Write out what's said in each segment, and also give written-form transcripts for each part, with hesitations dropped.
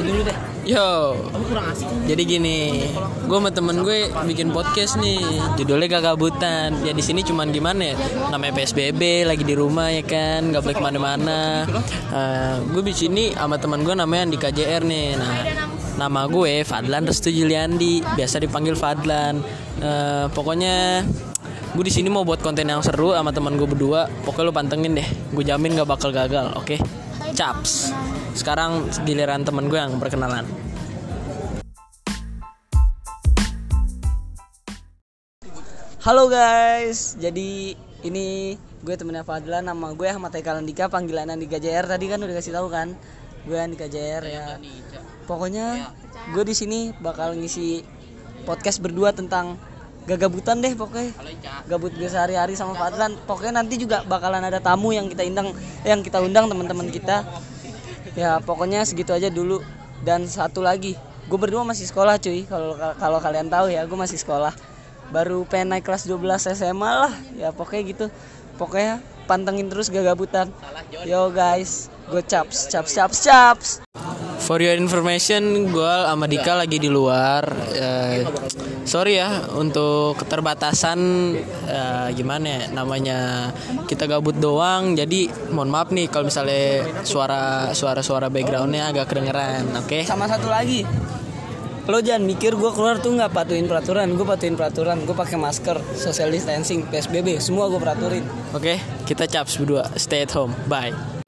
dulu deh. Yo. Kamu kurang asik. Jadi gini, gue sama temen gue bikin podcast nih, judulnya Gagabutan. Ya di sini cuman gimana ya? Namanya PSBB, lagi di rumah ya kan, nggak boleh kemana-mana. Gue di sini sama temen gue namanya Andika JR nih. Nah, nama gue Fadlan Restu Juliandi, biasa dipanggil Fadlan. Pokoknya gue di sini mau buat konten yang seru sama teman gue berdua. Pokoknya lu pantengin deh, gue jamin gak bakal gagal. Oke? Caps. Sekarang giliran temen gue yang perkenalan. Halo guys, jadi ini gue temennya Fadlan, nama gue Ahmad Haikal Andika, panggilan Andika JR. Tadi kan udah kasih tahu kan, gue Andika JR ya. Pokoknya gue di sini bakal ngisi podcast berdua tentang gagabutan deh, pokoknya gabut gue sehari-hari sama Fadlan. Pokoknya nanti juga bakalan ada tamu yang kita undang teman-teman kita. Ya pokoknya segitu aja dulu. Dan satu lagi, gue berdua masih sekolah cuy. Kalau kalian tahu ya, gue masih sekolah. Baru pengen naik kelas 12 SMA lah. Ya pokoknya gitu. Pokoknya pantengin terus gagabutan. Yo guys, gue caps. For your information, gue sama Dika lagi di luar. Sorry ya untuk keterbatasan, gimana ya, namanya kita gabut doang. Jadi mohon maaf nih kalau misalnya suara backgroundnya agak kedengeran. Oke? Sama satu lagi, lo jangan mikir gue keluar tuh nggak patuhin peraturan. Gue patuhin peraturan. Gue pakai masker, social distancing, PSBB, semua gue peraturin. Oke? Kita caps berdua. Stay at home. Bye.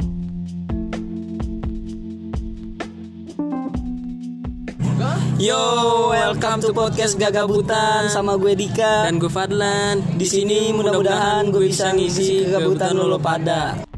Yo, welcome to podcast Gagabutan sama gue Dika dan gue Fadlan. Di sini mudah-mudahan gue bisa ngisi kegabutan lo pada.